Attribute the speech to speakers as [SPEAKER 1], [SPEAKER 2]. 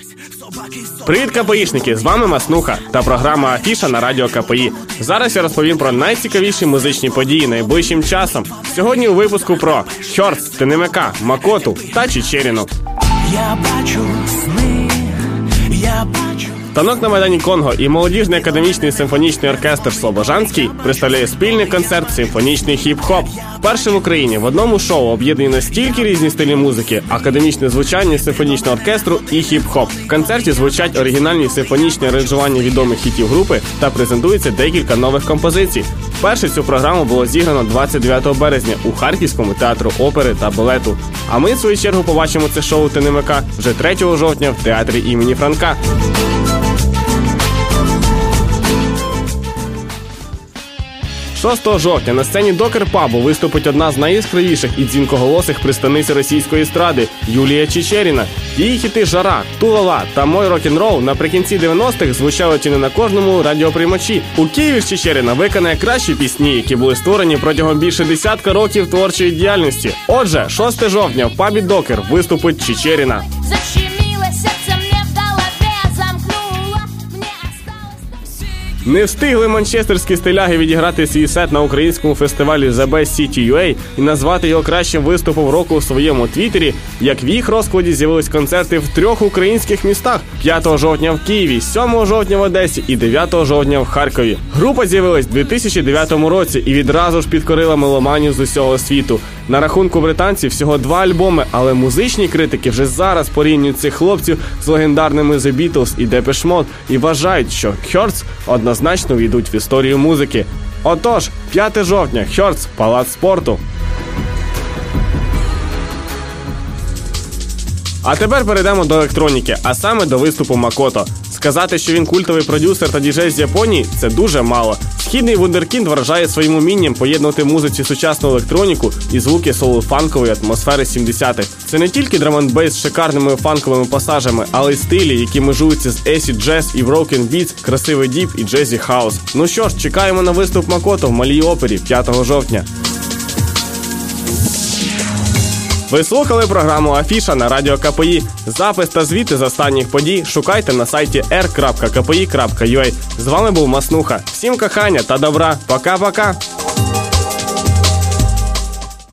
[SPEAKER 1] Привіт, КПІшники! З вами Маснуха та програма Афіша на радіо КПІ. Зараз я розповім про найцікавіші музичні події найближчим часом. Сьогодні у випуску про Хёрдс, ТНМК, Макоту та Чичеріну.
[SPEAKER 2] Я бачу сни, я бачу...
[SPEAKER 1] Танок на Майдані Конго і молодіжний академічний симфонічний оркестр Слобожанський представляє спільний концерт «Симфонічний хіп-хоп». Вперше в Україні в одному шоу об'єднані настільки різні стилі музики, академічне звучання симфонічного оркестру і хіп-хоп. В концерті звучать оригінальні симфонічні аранжування відомих хітів групи та презентується декілька нових композицій. Вперше цю програму було зіграно 29 березня у Харківському театру опери та балету. А ми, в свою чергу, побачимо це шоу ТНМК вже 3 жовтня в театрі імені Франка. 6 жовтня на сцені Докер-пабу виступить одна з найяскравіших і дзвінкоголосих представниць російської естради – Юлія Чичеріна. Її хіти «Жара», «Ту-ла-ла» та «Мой рок-н-рол» наприкінці 90-х звучали чи не на кожному радіоприймачі. У Києві Чичеріна виконає кращі пісні, які були створені протягом більше десятка років творчої діяльності. Отже, 6 жовтня в пабі Докер виступить Чичеріна. Не встигли манчестерські стиляги відіграти свій сет на українському фестивалі The Best City UA і назвати його кращим виступом року у своєму твіттері, як в їх розкладі з'явились концерти в 3 українських містах – 5 жовтня в Києві, 7 жовтня в Одесі і 9 жовтня в Харкові. Група з'явилась у 2009 році і відразу ж підкорила меломанів з усього світу. На рахунку британців всього 2 альбоми, але музичні критики вже зараз порівнюють цих хлопців з легендарними The Beatles і Depeche Mode і вважають, що Хёрдс однозначно війдуть в історію музики. Отож, 5 жовтня, Хёрдс, Палац спорту. А тепер перейдемо до електроніки, а саме до виступу Макото. Сказати, що він культовий продюсер та діджей з Японії – це дуже мало. Східний вундеркінд вражає своїм умінням поєднувати музиці сучасну електроніку і звуки соул-фанкової атмосфери 70-х. Це не тільки драм-н-бейс з шикарними фанковими пасажами, але й стилі, які межуються з acid jazz і broken beats, красивий діп і джезі хаус. Ну що ж, чекаємо на виступ Макото в Малій опері 5 жовтня. Ви слухали програму Афіша на радіо КПІ. Запис та звіти з останніх подій шукайте на сайті r.kpi.ua. З вами був Маснуха. Всім кохання та добра. Пока-пока.